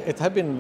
It has been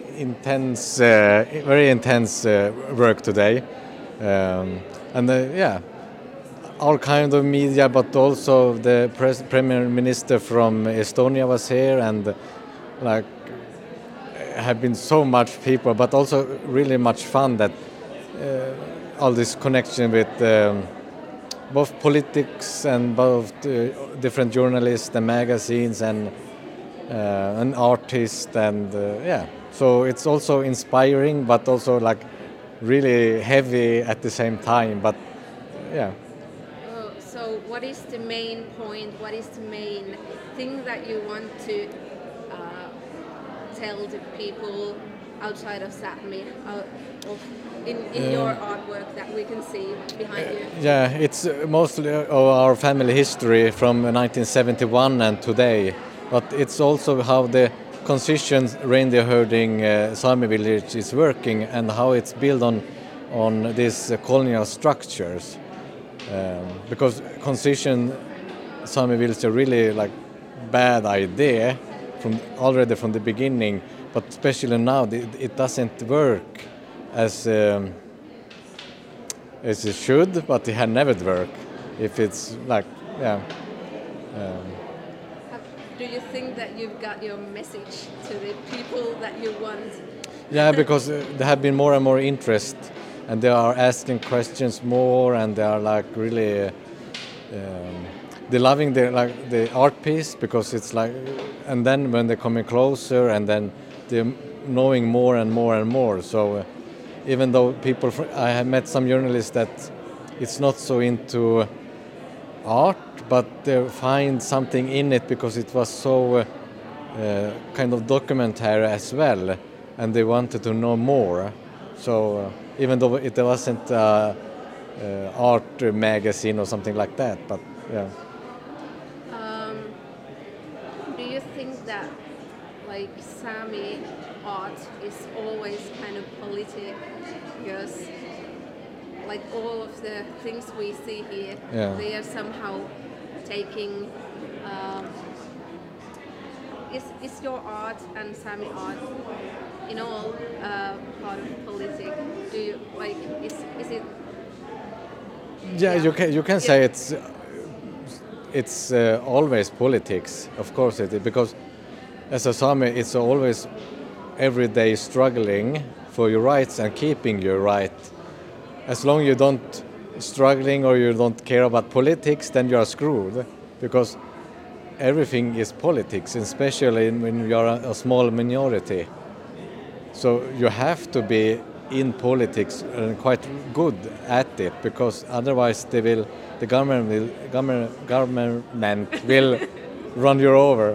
very intense work today, and yeah, all kind of media, but also the Premier Minister from Estonia was here, and like have been so much people, but also really much fun that all this connection with both politics and both different journalists and magazines and an artist and yeah. So it's also inspiring, but also like really heavy at the same time. But yeah. So what is the main point? What is the main thing that you want to tell the people outside of Sápmi, in your artwork that we can see behind you? Yeah, it's mostly of our family history from 1971 and today, but it's also how the concision reindeer herding Sami village is working and how it's built on these colonial structures. Because concision Sami village is a really like bad idea already from the beginning, but especially now it doesn't work as it should, but it had never worked if it's like yeah. Do you think that you've got your message to the people that you want? Yeah, because there have been more and more interest, and they are asking questions more, and they are like really they're loving the art piece because it's like, and then when they're coming closer, and then they're knowing more and more and more. So even though I have met some journalists that it's not so into art, but they find something in it because it was so kind of documentary as well, and they wanted to know more. So even though it wasn't art magazine or something like that, but yeah. Do you think that like Sami art is always kind of politic, because like all of the things we see here, they are somehow taking. Is your art and Sami art in all part of politics? Do you like? Is it? Yeah, you can say it's always politics, of course it is, because as a Sami it's always everyday struggling for your rights and keeping your right. As long as you don't struggling or you don't care about politics, then you are screwed, because everything is politics, especially when you are a small minority. So you have to be in politics and quite good at it, because otherwise the government will run you over.